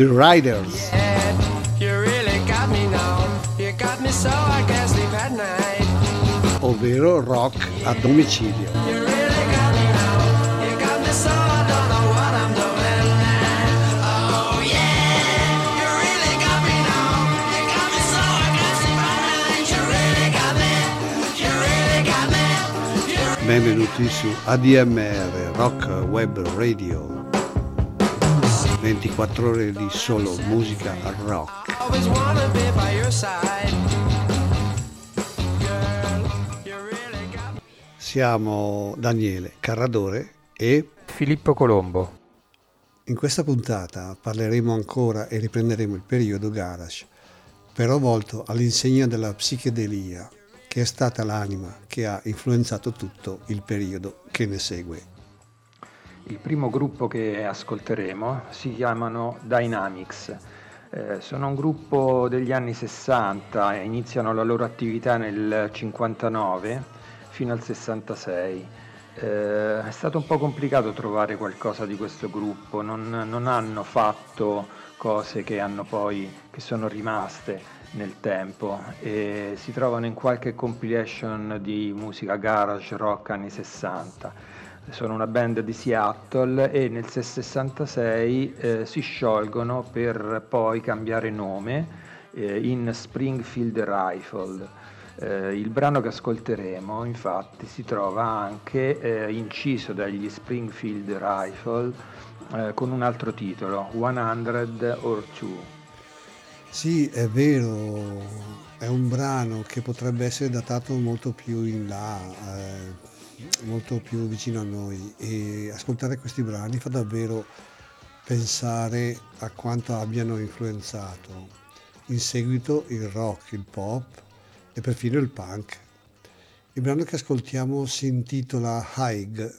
The Riders. Ovvero rock a domicilio. Benvenuti su ADMR Rock Web Radio, 24 ore di solo musica rock. Siamo Daniele Carradore e Filippo Colombo. In questa puntata parleremo ancora e riprenderemo il periodo garage, però volto all'insegna della psichedelia, che è stata l'anima che ha influenzato tutto il periodo che ne segue. Il primo gruppo che ascolteremo si chiamano Dynamics. Sono un gruppo degli anni 60, iniziano la loro attività nel 59 fino al 66. È stato un po' complicato trovare qualcosa di questo gruppo, non hanno fatto cose che sono rimaste nel tempo e si trovano in qualche compilation di musica garage rock anni 60. Sono una band di Seattle e nel 66 si sciolgono per poi cambiare nome in Springfield Rifle. Il brano che ascolteremo infatti si trova anche inciso dagli Springfield Rifle con un altro titolo, 100 or 2. Sì, è vero, è un brano che potrebbe essere datato molto più in là, molto più vicino a noi, e ascoltare questi brani fa davvero pensare a quanto abbiano influenzato in seguito il rock, il pop e perfino il punk. Il brano che ascoltiamo si intitola High.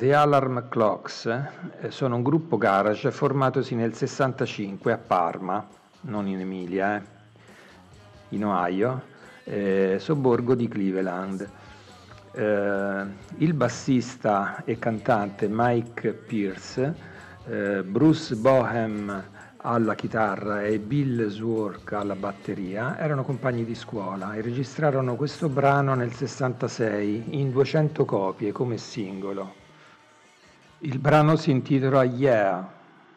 The Alarm Clocks sono un gruppo garage formatosi nel 65 a Parma, non in Emilia, in Ohio, sobborgo di Cleveland. Il bassista e cantante Mike Pierce, Bruce Bohem alla chitarra e Bill Zwork alla batteria erano compagni di scuola e registrarono questo brano nel 66 in 200 copie come singolo. Il brano si intitola Yeah.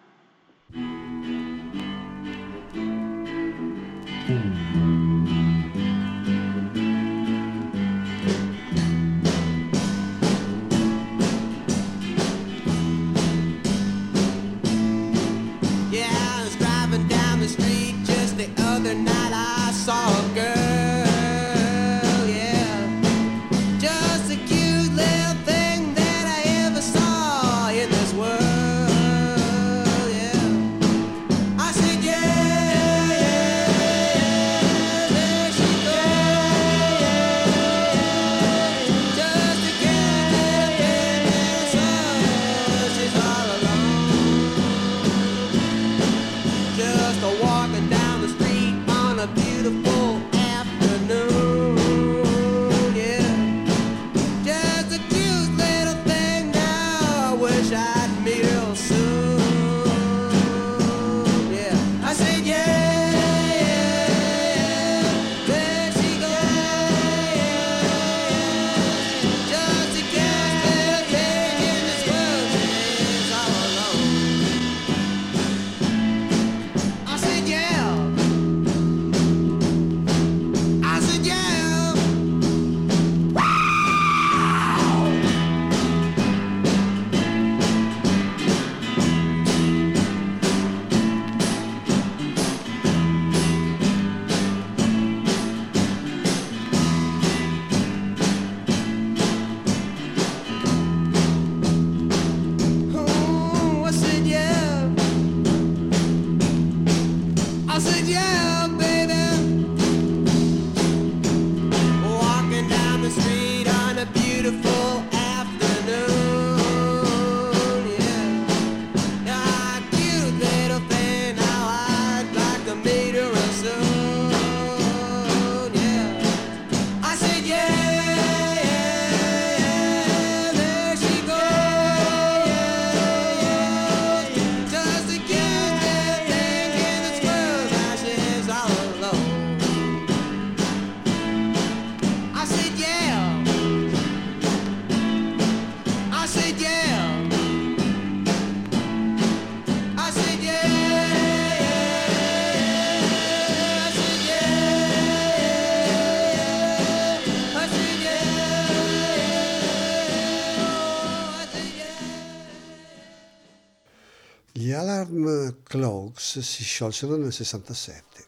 Gli Alarm Clocks si sciolsero nel 67.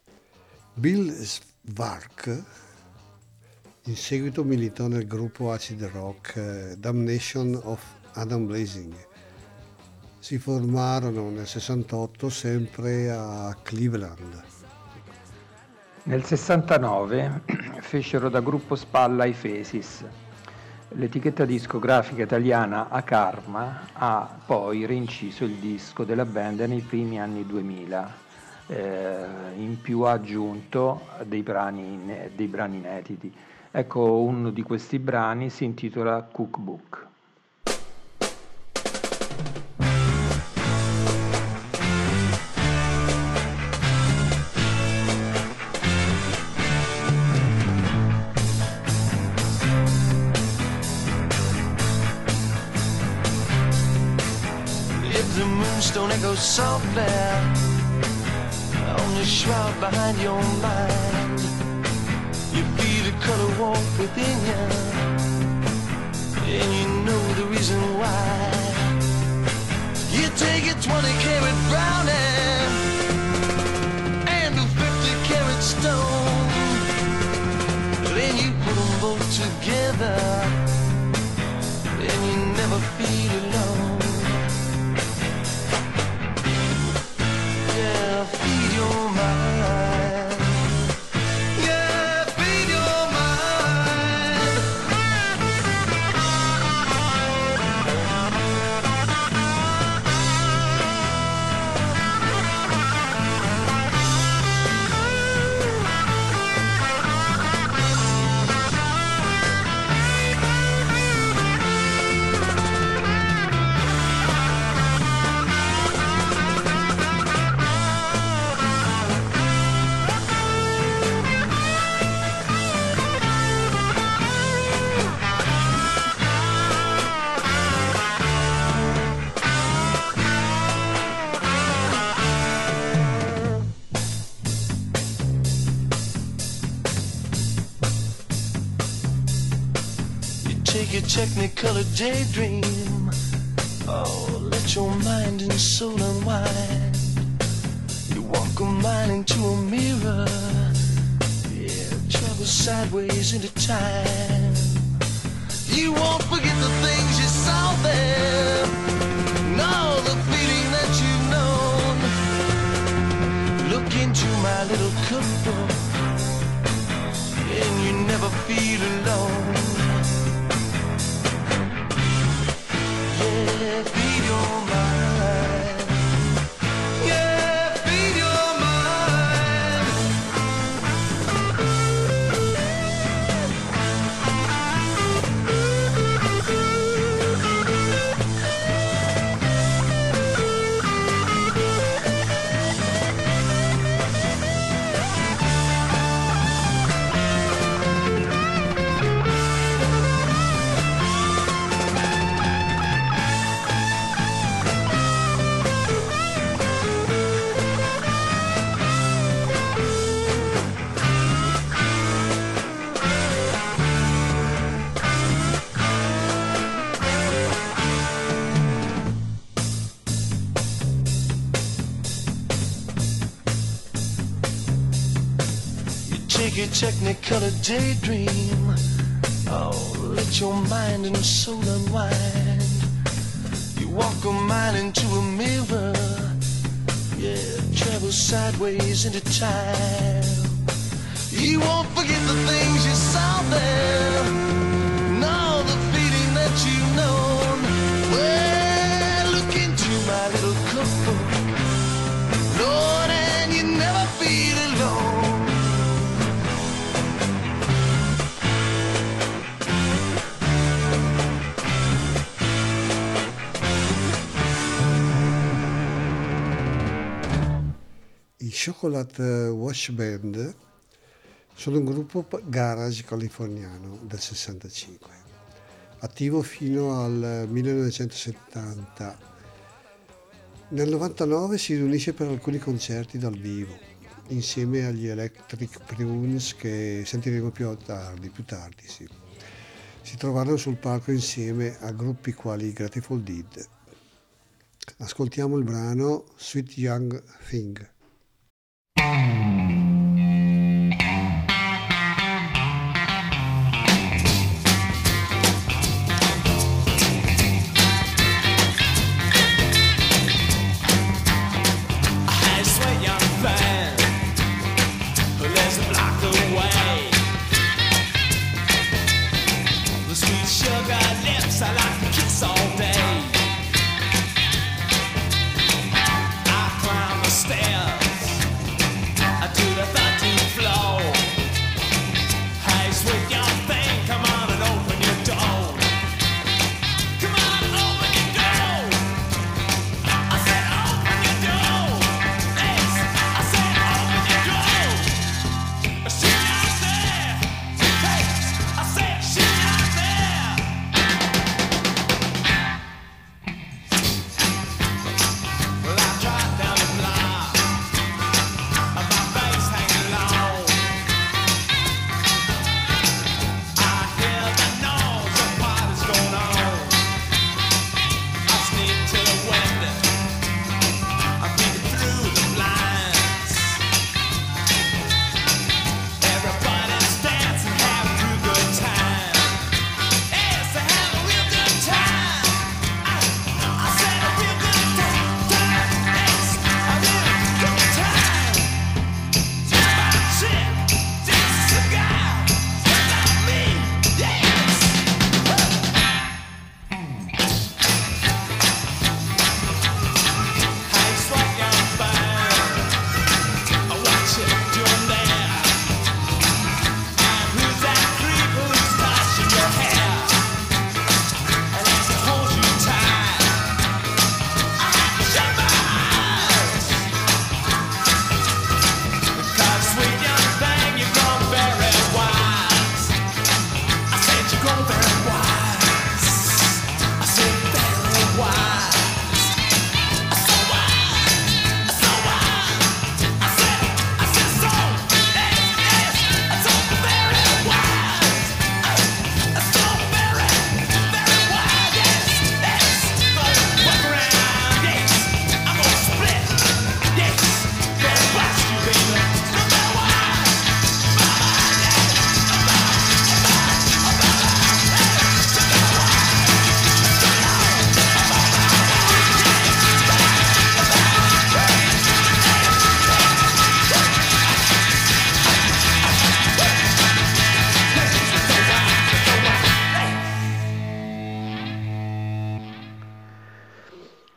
Bill Zwork in seguito militò nel gruppo acid rock Damnation of Adam Blazing. Si formarono nel 68 sempre a Cleveland. Nel 69 fecero da gruppo spalla i Faces. L'etichetta discografica italiana Akarma ha poi reinciso il disco della band nei primi anni 2000, in più ha aggiunto dei brani inediti. Ecco, uno di questi brani si intitola Cookbook. Don't echo softly on the shroud behind your mind. You feel the color walk within you, and you know the reason why. You take a 20-carat brownie and a 50-carat stone, then you put them both together, and you never feel alone. Feed your mind. Yeah, feed your mind. a technicolor daydream. Oh, let your mind and soul unwind. You walk a mile into a mirror. Yeah, travel sideways into time. You won't forget the things you saw there. No, the feeling that you've known. Look into my little cookbook, and you never feel alone. Yeah, feed your mind. Yeah, feed your mind. Take a technicolor daydream. Oh, let your mind and soul unwind. You walk a mile into a mirror. Yeah, travel sideways into time. You won't forget the things you saw there. No, the feeling that you've known. Well, look into my little cookbook, Lord, and you never feel alone. I Chocolate Wash Band sono un gruppo garage californiano del 65, attivo fino al 1970. Nel 99 si riunisce per alcuni concerti dal vivo, insieme agli Electric Prunes che sentiremo più tardi. Sì. Si trovarono sul palco insieme a gruppi quali Grateful Dead. Ascoltiamo il brano Sweet Young Thing. I climb the stairs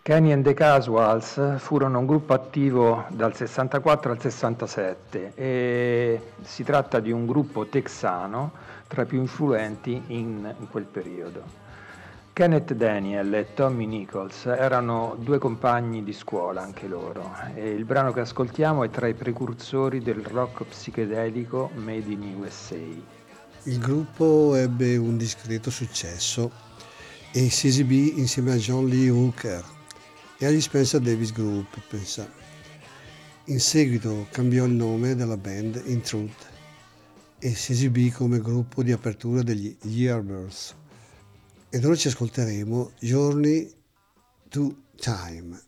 Kenny and the Casuals furono un gruppo attivo dal 64 al 67 e si tratta di un gruppo texano tra i più influenti in quel periodo. Kenneth Daniel e Tommy Nichols erano due compagni di scuola anche loro e il brano che ascoltiamo è tra i precursori del rock psichedelico made in USA. Il gruppo ebbe un discreto successo e si esibì insieme a John Lee Hooker e agli Spencer Davis Group, pensa. In seguito cambiò il nome della band in Truth e si esibì come gruppo di apertura degli Yardbirds. Ed ora ci ascolteremo Journey to Time.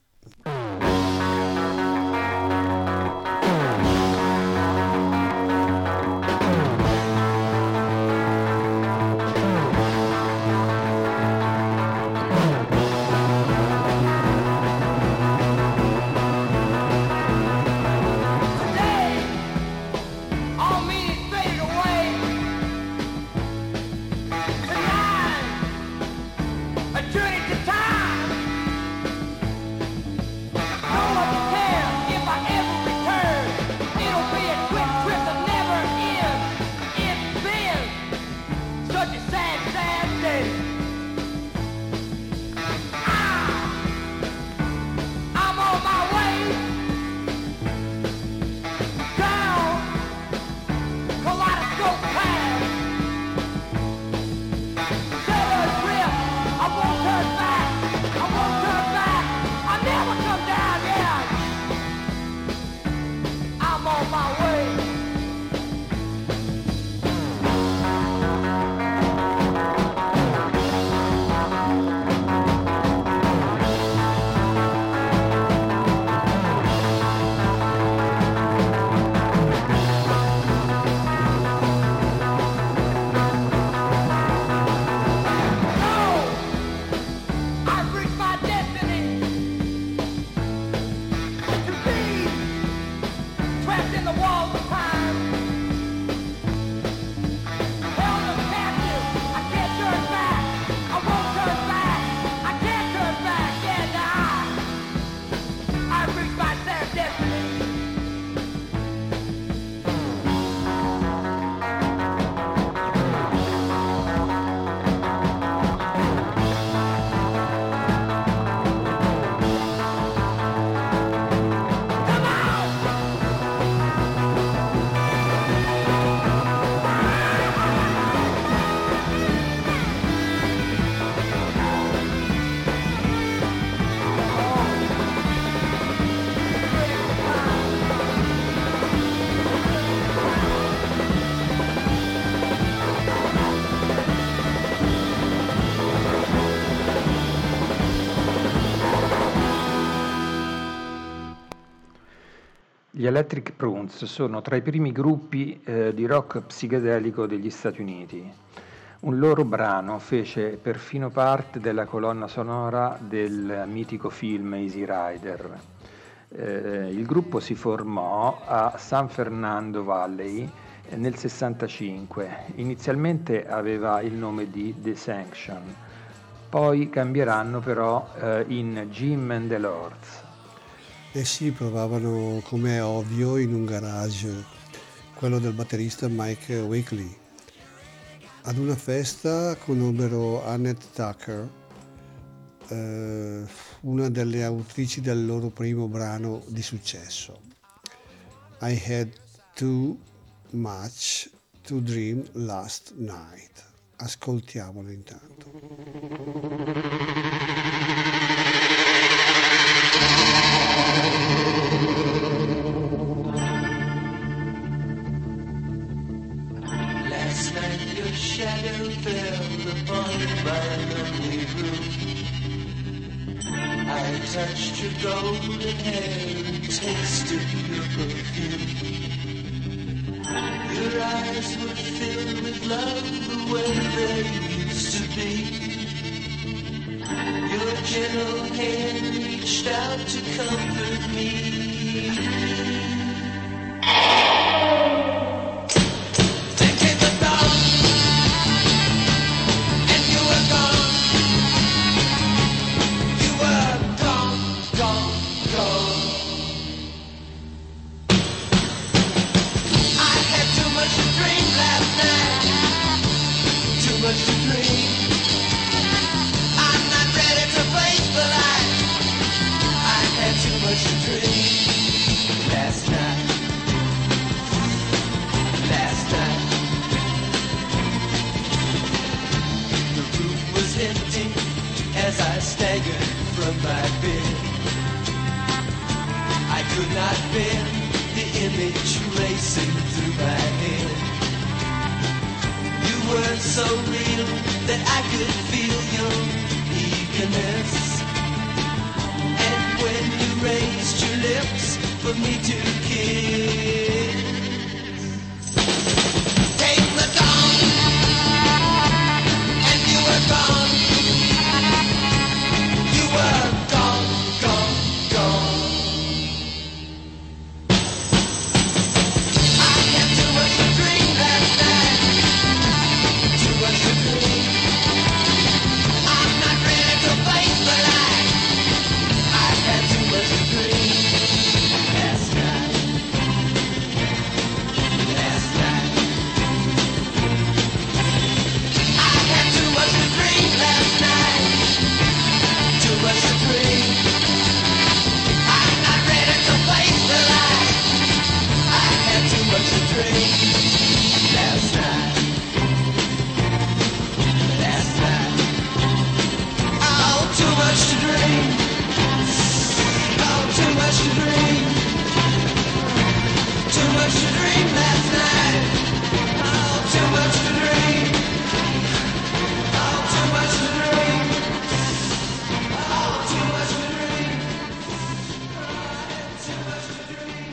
Gli Electric Prunes sono tra i primi gruppi di rock psichedelico degli Stati Uniti. Un loro brano fece perfino parte della colonna sonora del mitico film Easy Rider. Il gruppo si formò a San Fernando Valley nel 65. Inizialmente aveva il nome di The Sanction, poi cambieranno però in Jim and the Lords. E si provavano, come è ovvio, in un garage, quello del batterista Mike Wakely. Ad una festa conobbero Annette Tucker, una delle autrici del loro primo brano di successo, I Had Too Much to Dream Last Night. Ascoltiamolo intanto. Last night your shadow fell upon my lonely room. I touched your golden hair and tasted your perfume. Your eyes were filled with love the way they used to be. Your gentle hand reached out to comfort me. Gone. so real that I could feel your eagerness. And when you raised your lips for me to kiss, came the dawn, and you were gone. You were gone, gone, gone. I had too much to drink last night, too much to drink. I'm not ready to face the light. I had too much to drink last night, last night. I had too much to drink last night, too much to drink. I'm not ready to face the light. I had too much to drink last night, last night. Oh, too much to drink. Oh, too much to drink. Too much to drink last night. Oh, too much to drink. Oh, too much to drink. Oh, too much to drink. Too much to drink.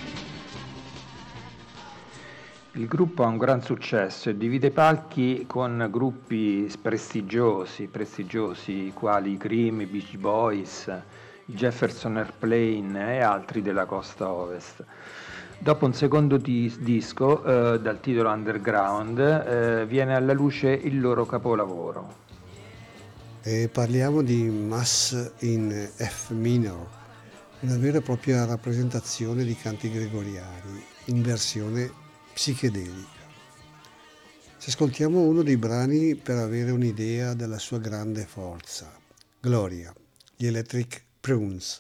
Il gruppo ha un gran successo e divide palchi con gruppi prestigiosi, quali i Cream, i Beach Boys, i Jefferson Airplane e altri della costa ovest. Dopo un secondo disco dal titolo Underground viene alla luce il loro capolavoro. E parliamo di Mass in F minor, una vera e propria rappresentazione di canti gregoriani in versione psichedelica. Se ascoltiamo uno dei brani per avere un'idea della sua grande forza, Gloria, gli Electric Prunes.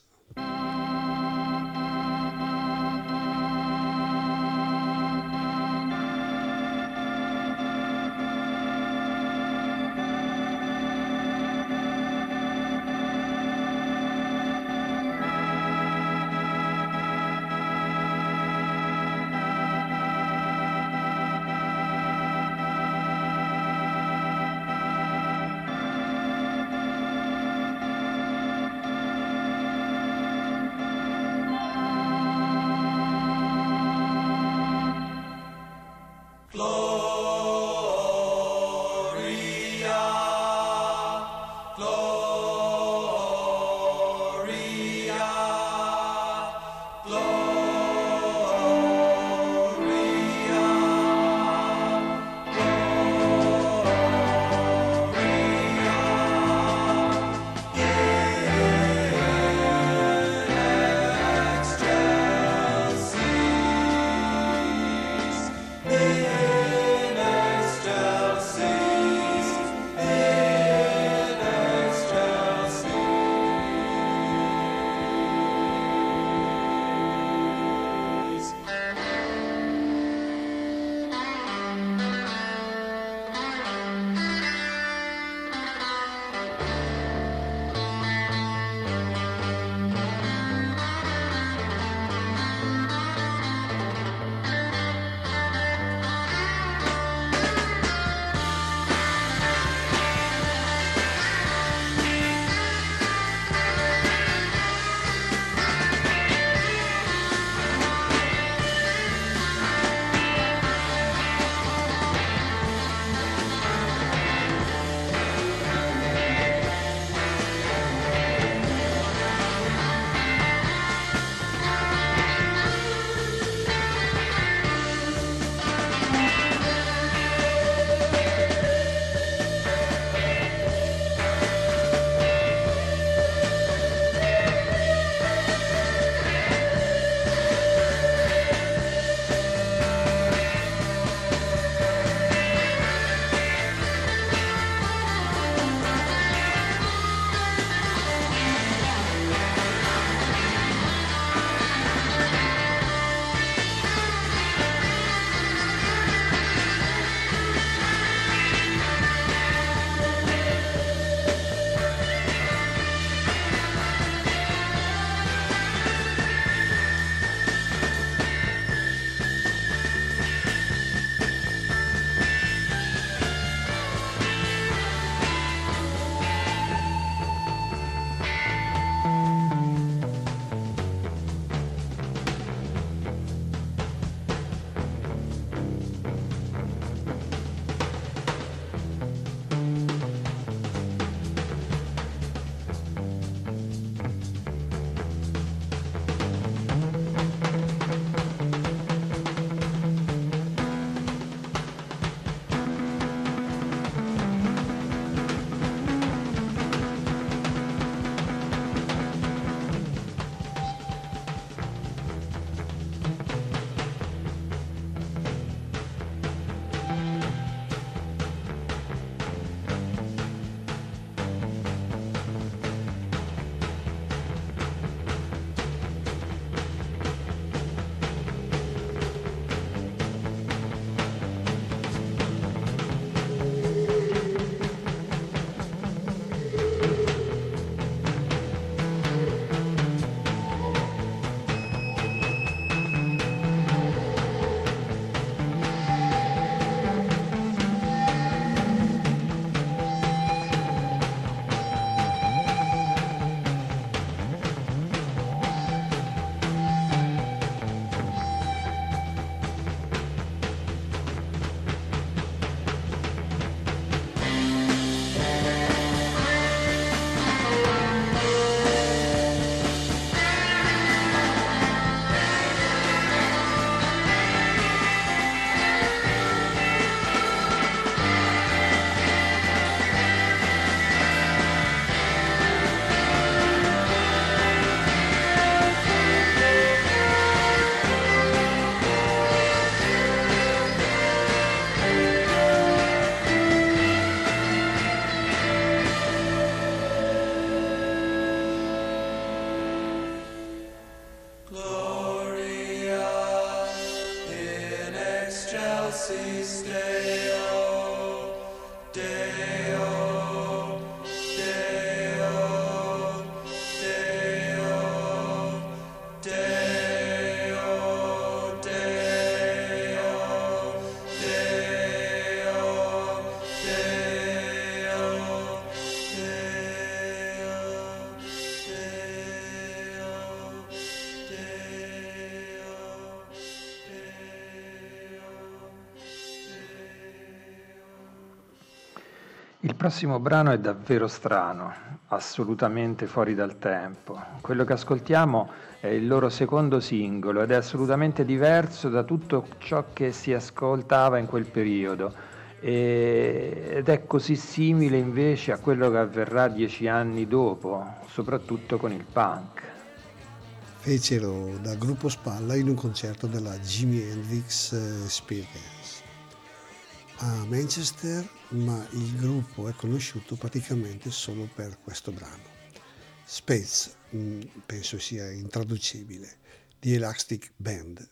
Il prossimo brano è davvero strano, assolutamente fuori dal tempo. Quello che ascoltiamo è il loro secondo singolo ed è assolutamente diverso da tutto ciò che si ascoltava in quel periodo ed è così simile invece a quello che avverrà 10 anni dopo, soprattutto con il punk. Fecero da gruppo spalla in un concerto della Jimi Hendrix Experience a Manchester, ma il gruppo è conosciuto praticamente solo per questo brano. Space, penso sia intraducibile, di Elastic Band.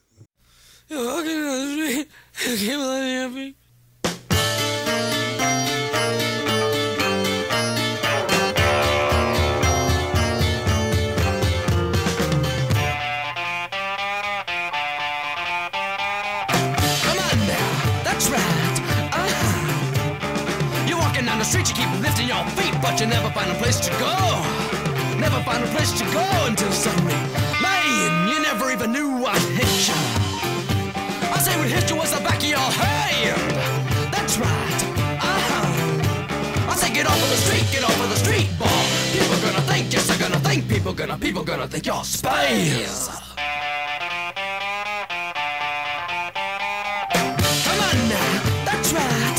Street, you keep lifting your feet, but you never find a place to go. Never find a place to go until suddenly, man, you never even knew what hit you. I say what hit you was the back of your hand. That's right. I say get off of the street, boy. People gonna think, yes, they're gonna think. People gonna think you're space. Come on now, that's right.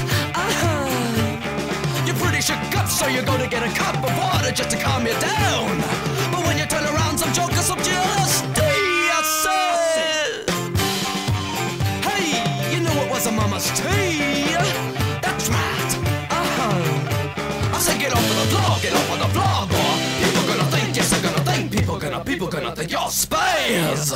Shook up, so you go to get a cup of water just to calm you down. But when you turn around, some jokers up just said, hey, you know it was a mama's tea. That's right. I said get off of the floor, boy. People gonna think, yes, they're gonna think. People gonna think you're space.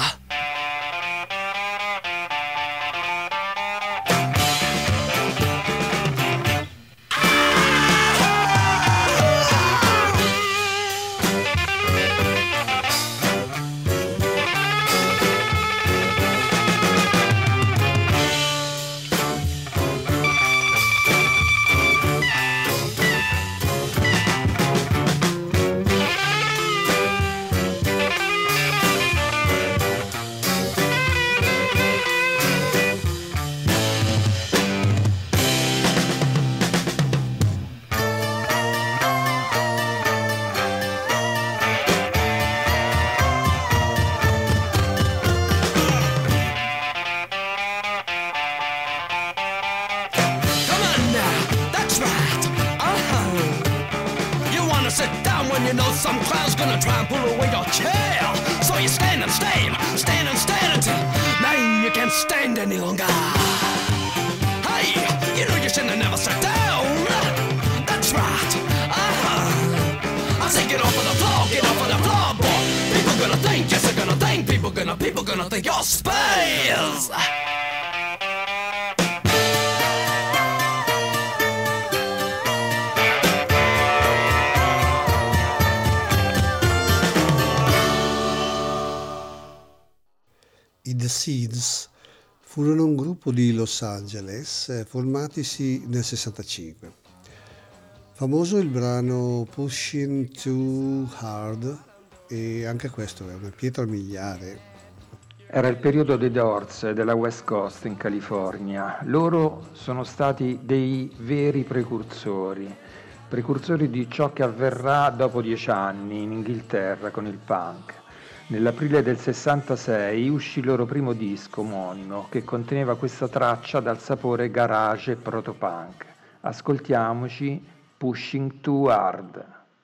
People gonna think you're space. I The Seeds furono un gruppo di Los Angeles formatisi nel 65. Famoso il brano Pushing Too Hard, e anche questo è una pietra miliare. Era il periodo dei Doors e della West Coast in California. Loro sono stati dei veri precursori di ciò che avverrà dopo 10 anni in Inghilterra con il punk. Nell'aprile del 66 uscì il loro primo disco omonimo che conteneva questa traccia dal sapore garage e protopunk. Ascoltiamoci Pushing Too Hard.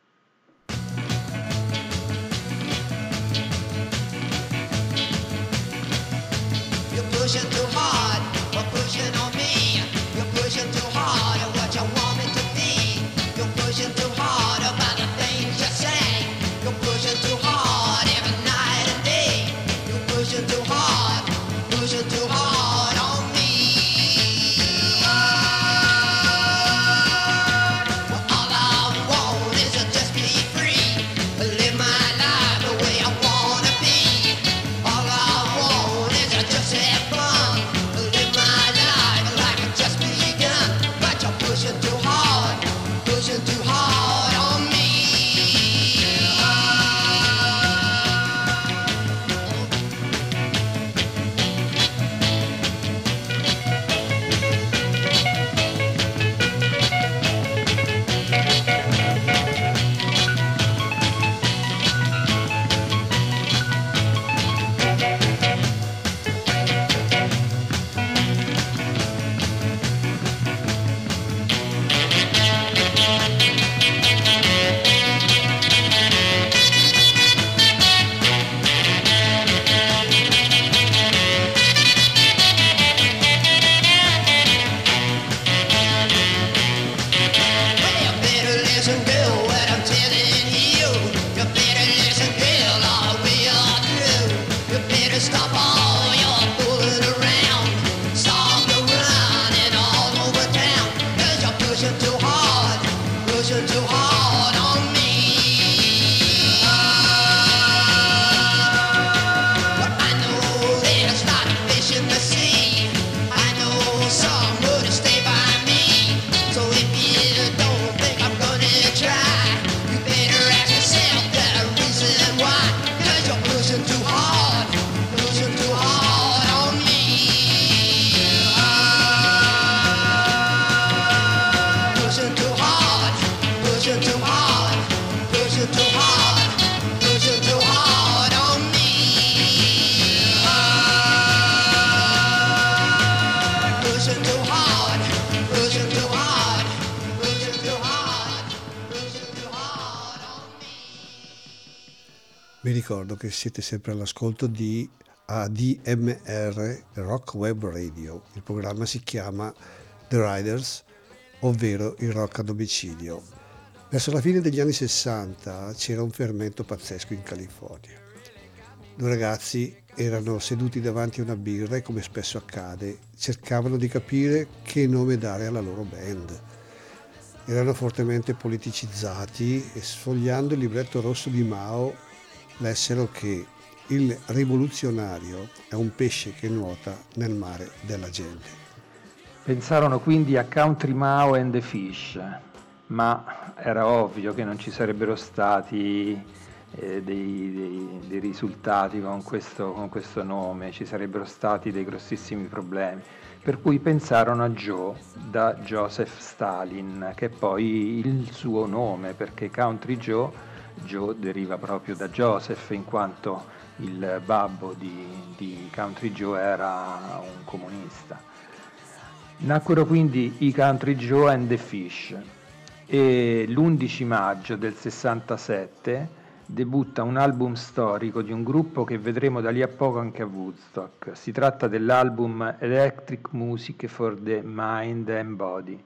Pushing too hard, or pushing on me. You're pushing too hard at what you want me to be. You're pushing too hard about the things you say. You're pushing too hard every night and day. You're pushing too hard on me. Well, all I want is to just be free, live my life the way I wanna be. All I want is to just have fun. Vi ricordo che siete sempre all'ascolto di ADMR Rock Web Radio. Il programma si chiama The Riders, ovvero il rock a domicilio. Verso la fine degli anni 60 c'era un fermento pazzesco in California. Due ragazzi erano seduti davanti a una birra e, come spesso accade, cercavano di capire che nome dare alla loro band. Erano fortemente politicizzati e, sfogliando il libretto rosso di Mao, lessero che il rivoluzionario è un pesce che nuota nel mare della gente. Pensarono quindi a Country Mao and the Fish, ma era ovvio che non ci sarebbero stati dei risultati con questo nome, ci sarebbero stati dei grossissimi problemi, per cui pensarono a Joe da Joseph Stalin, che è poi il suo nome, perché Country Joe deriva proprio da Joseph, in quanto il babbo di Country Joe era un comunista. Nacquero quindi i Country Joe and the Fish e l'11 maggio del 67 debutta un album storico di un gruppo che vedremo da lì a poco anche a Woodstock. Si tratta dell'album Electric Music for the Mind and Body.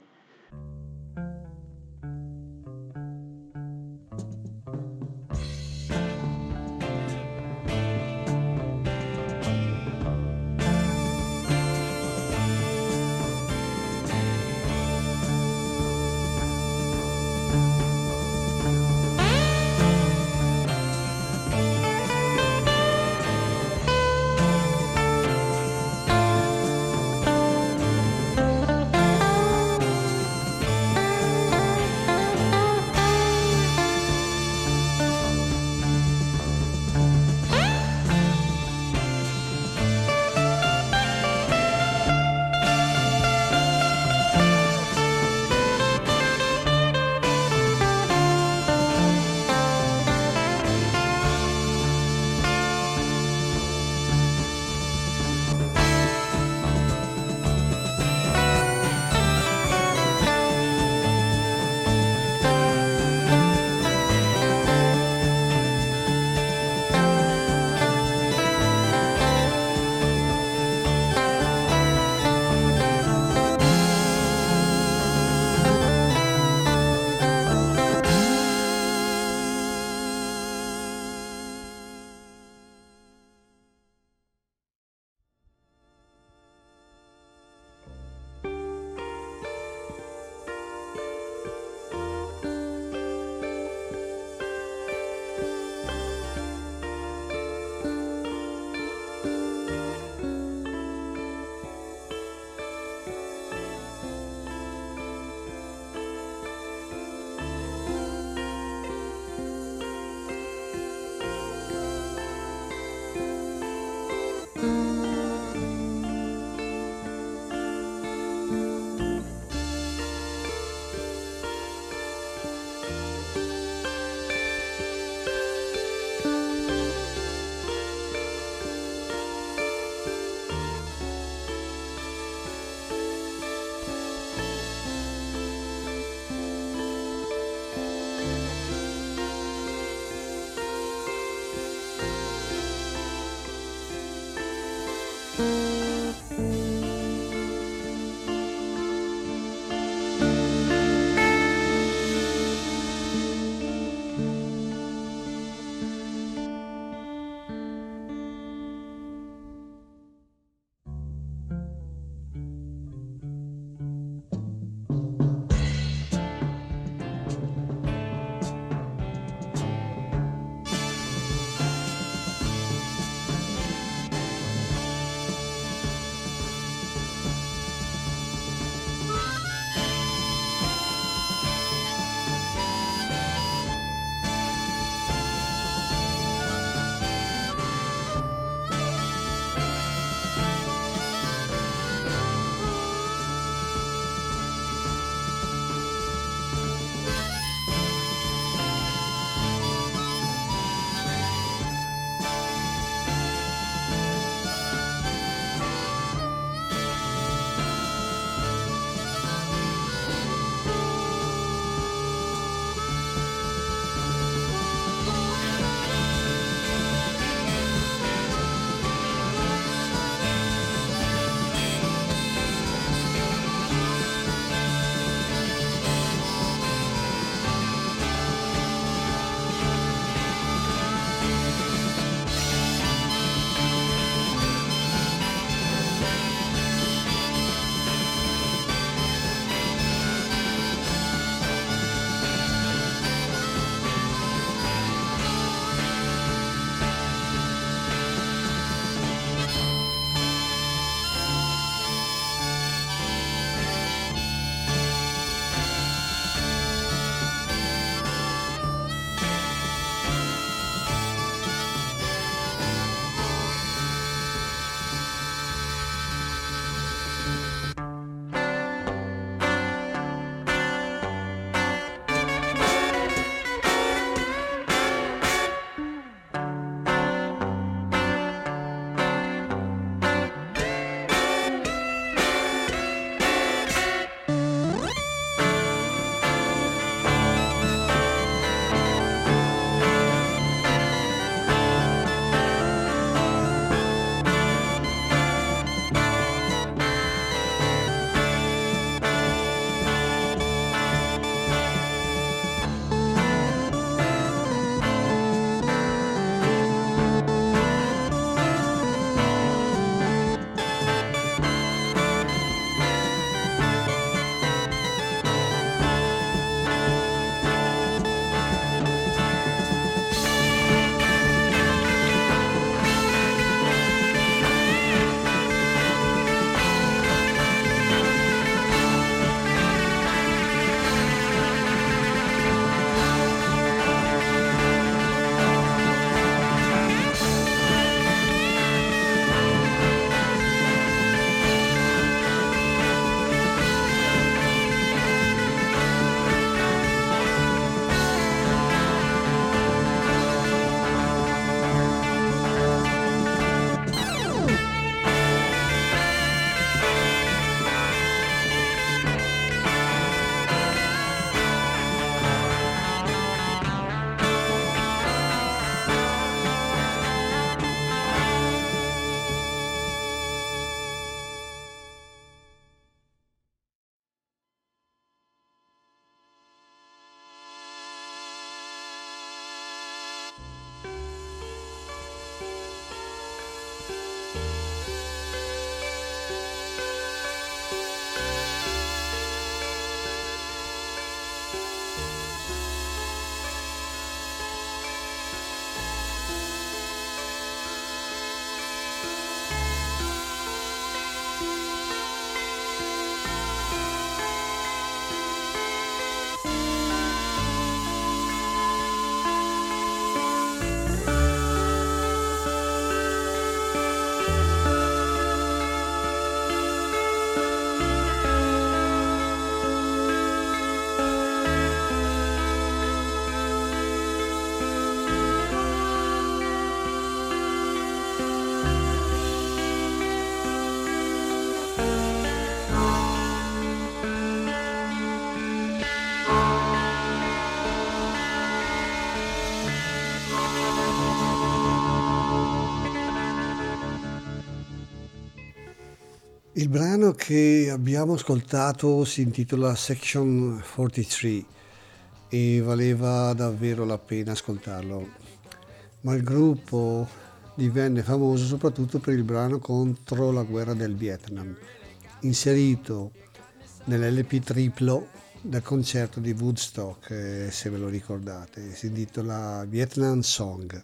Il brano che abbiamo ascoltato si intitola Section 43 e valeva davvero la pena ascoltarlo, ma il gruppo divenne famoso soprattutto per il brano contro la guerra del Vietnam, inserito nell'LP triplo del concerto di Woodstock, se ve lo ricordate, si intitola Vietnam Song.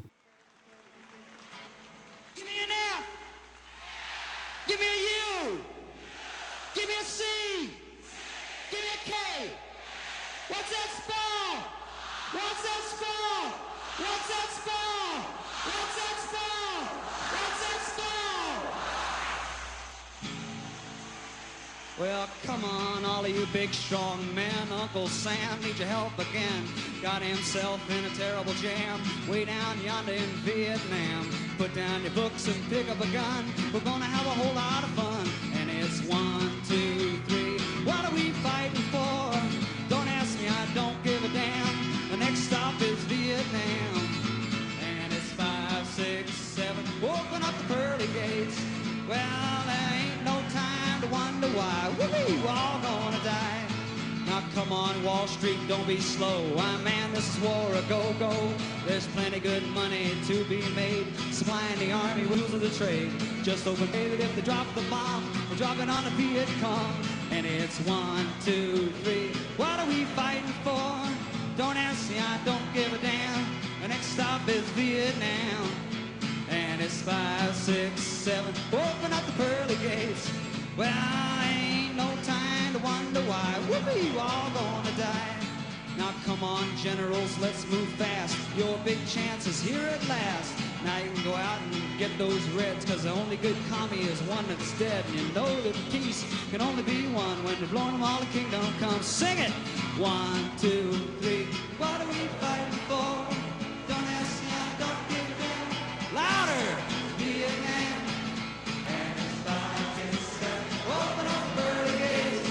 Give me an F. Give me a U. Give me a C. Give me a K. What's that spell? What's that spell? What's that spell? What's that spell? What's that spell? Well, come on, all of you big strong men. Uncle Sam needs your help again. Got himself in a terrible jam way down yonder in Vietnam. Put down your books and pick up a gun. We're gonna have a whole lot of fun. And it's 1, 2, 3. What are we fighting for? Don't ask me, I don't give a damn. The next stop is Vietnam. And it's 5, 6, 7. Open up the pearly gates. Well, there ain't no time to wonder why. We're all gonna die. Now come on, Wall Street, don't be slow. Why, man, this is war a go-go. There's plenty good money to be made, supplying the army with the trade. Just open it if they drop the bomb. We're dropping on the Viet Cong. And it's 1, 2, 3. What are we fighting for? Don't ask me, I don't give a damn. The next stop is Vietnam. And it's 5, 6, 7. Open up the pearly gates. Well, ain't no time to wonder why. We're all gonna die. Now come on, generals, let's move fast. Your big chance is here at last. Now you can go out and get those reds, cause the only good commie is one that's dead. And you know that peace can only be one when you're blowing them all the kingdom comes. Sing it! 1, 2, 3. What are we fighting for? Don't ask me, I don't give a damn. Louder! Vietnam. And it's 5, 6, 7. Open up early gates.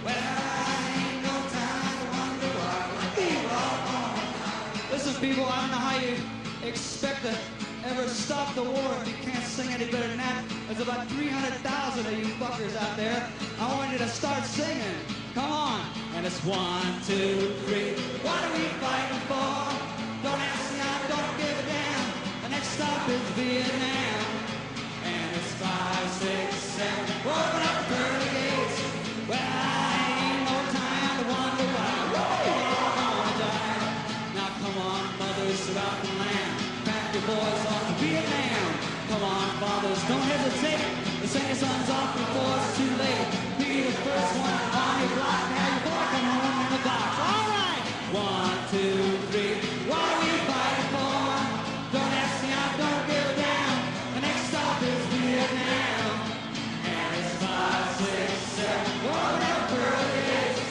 Well, ain't no time to wonder why. We're all gonna. Listen, people, I don't know how you expect to ever stop the war if you can't sing any better than that. There's about 300,000 of you fuckers out there. I want you to start singing. Come on. And it's 1, 2, 3. What are we fighting for? Don't ask me, I don't give a damn. The next stop is Vietnam. And it's 5, 6, 7. Open up the pearly gates. Well, ain't no time to wonder why. We're all gonna die. Now come on, mothers throughout the land. Pack your boys off to Vietnam. Come on, fathers, don't hesitate. To send your sons off before it's too late. Be the first one on your block. Have your boy come home in the box. All right. 1, 2, 3. What are we fighting for? Don't ask me, I don't give a damn. The next stop is Vietnam. And it's 5, 6, 7. Open up pearly gates.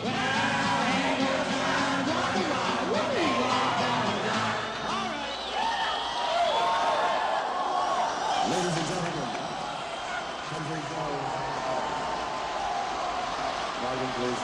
Well, ain't no time to wonder why. We're all gonna die. All right. Ladies and gentlemen, Country Joe. Volume, please.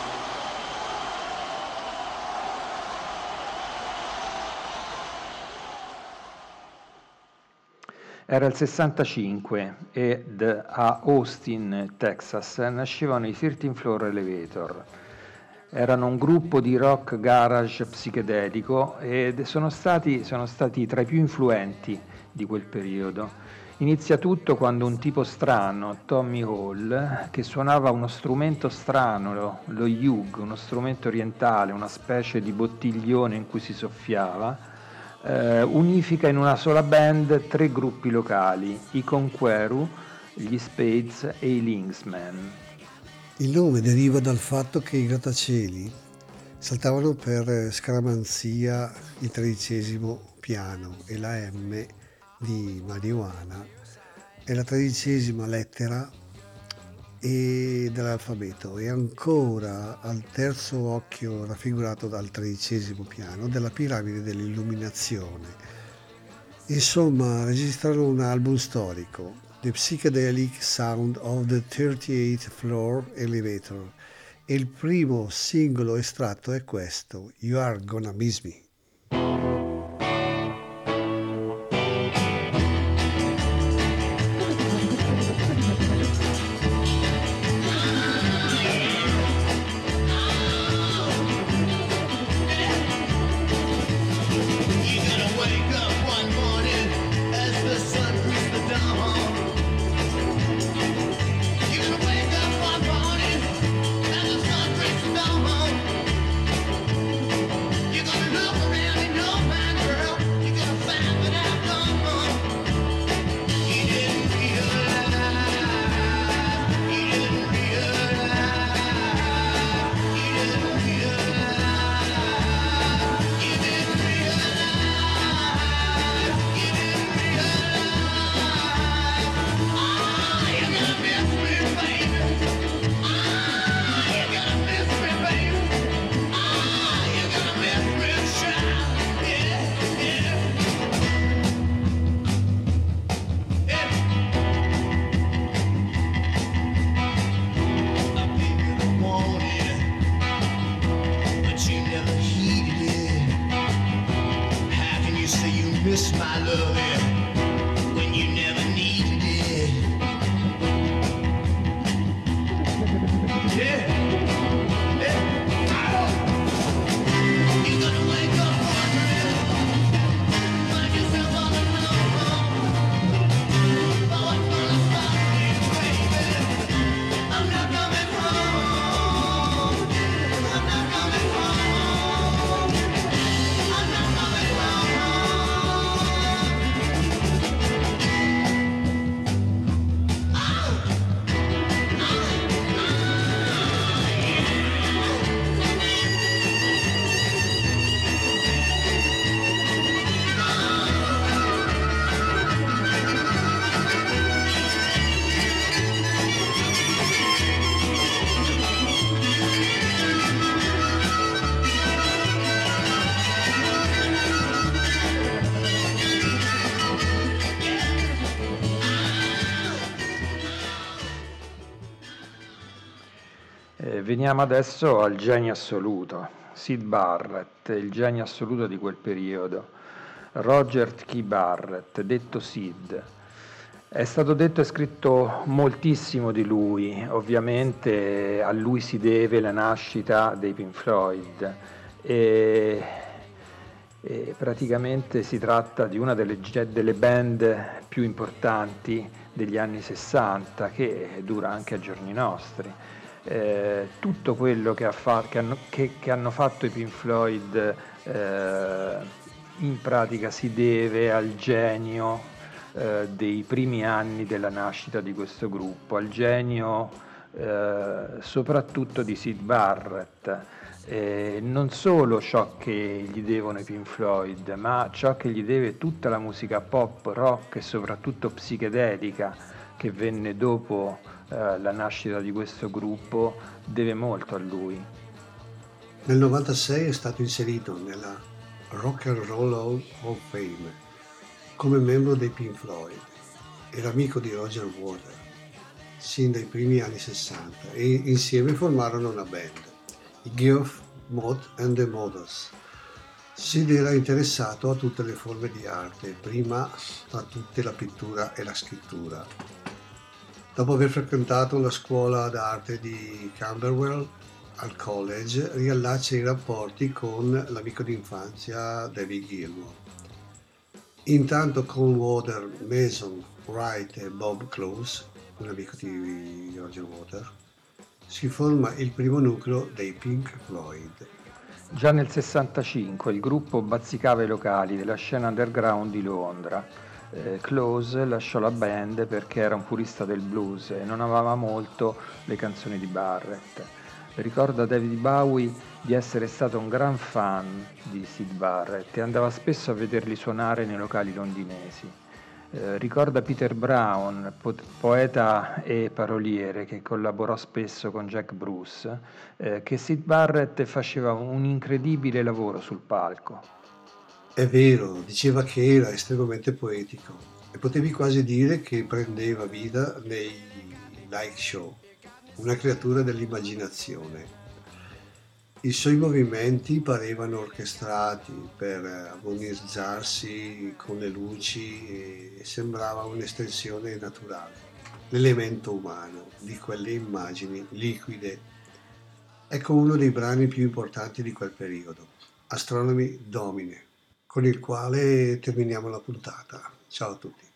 Era il 65 ed a Austin, Texas, nascevano i 13 Floor Elevator. Erano un gruppo di rock garage psichedelico ed sono stati tra i più influenti di quel periodo. Inizia tutto quando un tipo strano, Tommy Hall, che suonava uno strumento strano, lo Yug, uno strumento orientale, una specie di bottiglione in cui si soffiava, unifica in una sola band 3 gruppi locali, i Conqueror, gli Spades e i Linksmen. Il nome deriva dal fatto che i grattacieli saltavano per scaramanzia il 13° piano e la M di marijuana è la 13ª lettera dell'alfabeto e ancora al terzo occhio raffigurato dal 13° piano della piramide dell'illuminazione. Insomma, registrano un album storico, The Psychedelic Sound of the 38th Floor Elevator, e il primo singolo estratto è questo, You Are Gonna Miss Me. Veniamo adesso al genio assoluto, Syd Barrett, il genio assoluto di quel periodo. Roger T. Barrett, detto Sid. È stato detto e scritto moltissimo di lui, ovviamente a lui si deve la nascita dei Pink Floyd e praticamente si tratta di una delle band più importanti degli anni 60 che dura anche ai giorni nostri. Tutto quello che hanno fatto i Pink Floyd in pratica si deve al genio dei primi anni della nascita di questo gruppo, al genio soprattutto di Syd Barrett, non solo ciò che gli devono i Pink Floyd, ma ciò che gli deve tutta la musica pop, rock e soprattutto psichedelica che venne dopo la nascita di questo gruppo, deve molto a lui. Nel 96 è stato inserito nella Rock and Roll Hall of Fame come membro dei Pink Floyd. Era amico di Roger Waters sin dai primi anni 60 e insieme formarono una band, i Geoff, Mott and the Mothers. Sid era interessato a tutte le forme di arte, prima tra tutte la pittura e la scrittura. Dopo aver frequentato la scuola d'arte di Camberwell, al college riallaccia i rapporti con l'amico d'infanzia David Gilmour. Intanto con Water, Mason, Wright e Bob Close, un amico di Roger Waters, si forma il primo nucleo dei Pink Floyd. Già nel 65 il gruppo bazzicava i locali della scena underground di Londra. Close lasciò la band perché era un purista del blues e non amava molto le canzoni di Barrett. Ricorda David Bowie di essere stato un gran fan di Syd Barrett e andava spesso a vederli suonare nei locali londinesi. Ricorda Peter Brown, poeta e paroliere che collaborò spesso con Jack Bruce, che Syd Barrett faceva un incredibile lavoro sul palco. È vero, diceva che era estremamente poetico e potevi quasi dire che prendeva vita nei live show, una creatura dell'immaginazione. I suoi movimenti parevano orchestrati per armonizzarsi con le luci e sembrava un'estensione naturale, l'elemento umano di quelle immagini liquide. Ecco uno dei brani più importanti di quel periodo, Astronomy Domine, con il quale terminiamo la puntata. Ciao a tutti.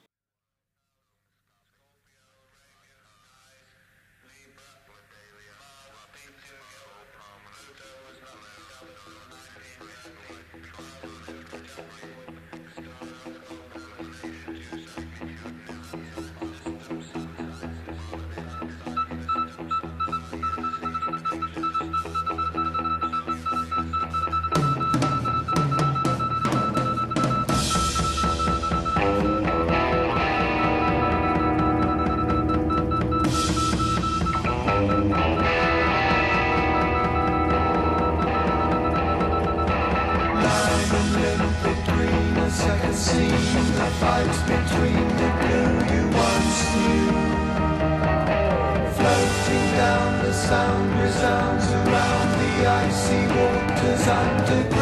Sound resounds around the icy waters underground.